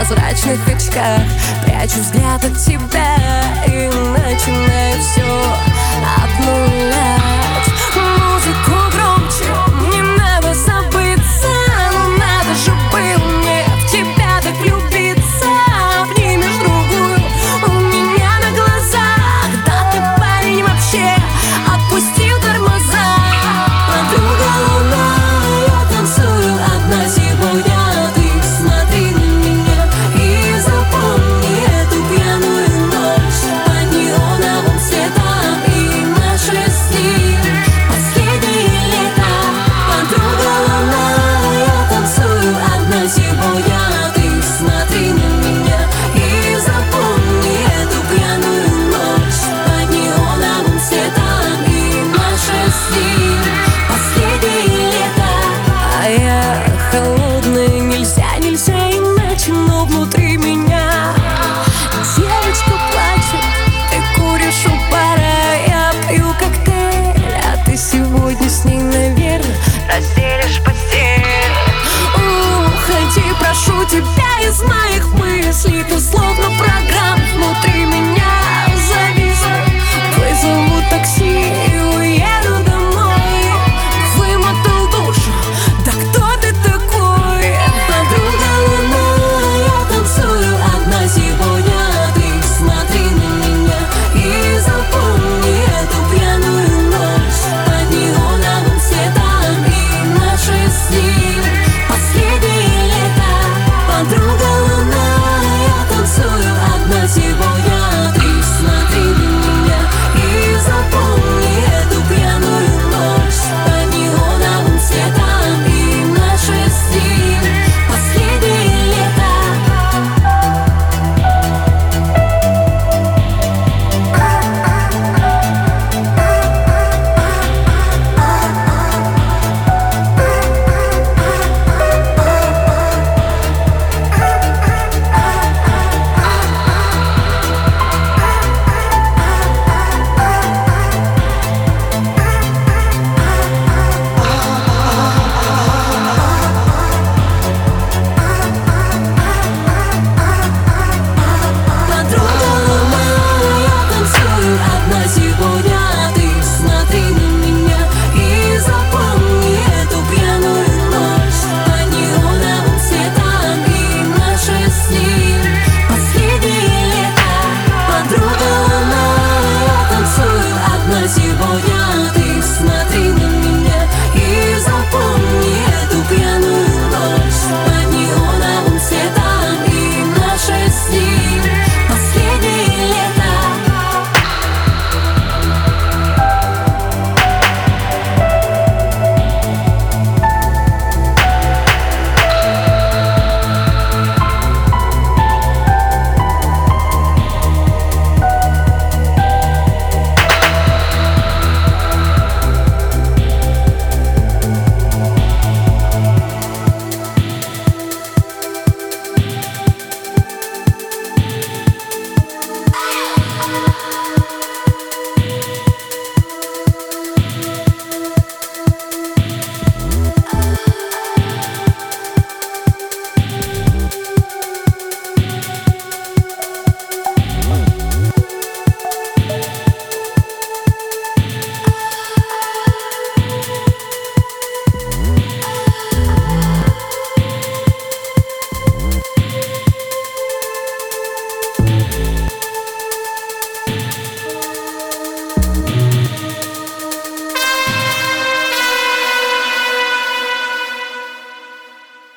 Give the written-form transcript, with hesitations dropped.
прозрачных очках прячу взгляд от тебя и начинаю все обнулять. Музыку громче, не надо забыться, но надо же было мне в тебя так влюбиться. Обнимешь другую у меня на глазах, да ты, парень, вообще отпустил тормоза. Подруга луна, я танцую одна сегодня. Ты смотри на меня и запомни эту пьяную ночь под неоновым светом и наши сны. Последнее лето. Подруга луна, я танцую одна сегодня. Ты смотри на меня и запомни эту пьяную ночь под неоновым светом и наши сны. Последнее лето. А я холодная, нельзя иначе, но внутри меня девочка плачет. Ты куришь у бара, я пью коктейль, а ты сегодня с ней, наверное, разделишь постель. Уходи, прошу тебя из моих мыслей, ты